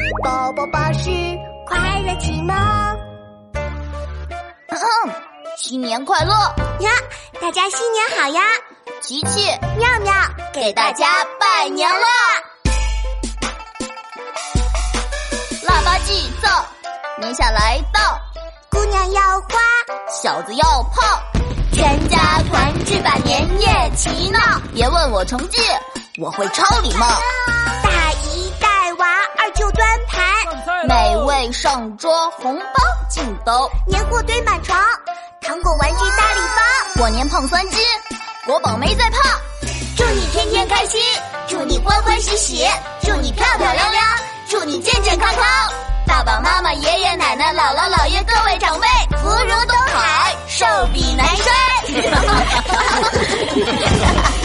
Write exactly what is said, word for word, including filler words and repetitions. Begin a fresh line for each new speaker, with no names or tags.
宝宝巴士快乐启蒙。
嗯，新年快乐
呀！大家新年好呀！
琪琪、
妙妙
给大家拜年啦！腊八祭灶，年下来到，
姑娘要花，
小子要炮，
全家团聚把年夜齐闹。
别问我成绩，我会超礼貌。
大姨带娃，二舅端盘，
美味上桌，红包进兜，
年货堆满床，糖果玩具大礼包。
过年胖三斤，国宝没再胖。
祝你天天开心，祝你欢欢喜喜，祝你漂漂亮亮，祝你健健康康。
爸爸妈妈、爷爷奶奶、姥姥姥爷，各位长辈，
福如东海，寿比南山。